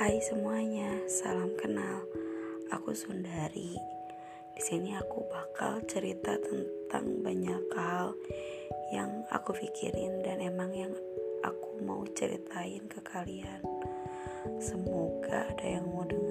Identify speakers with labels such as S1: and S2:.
S1: Hai semuanya, salam kenal. Aku Sundari. Di sini aku bakal cerita tentang banyak hal yang aku pikirin dan emang yang aku mau ceritain ke kalian. Semoga ada yang mau dengar.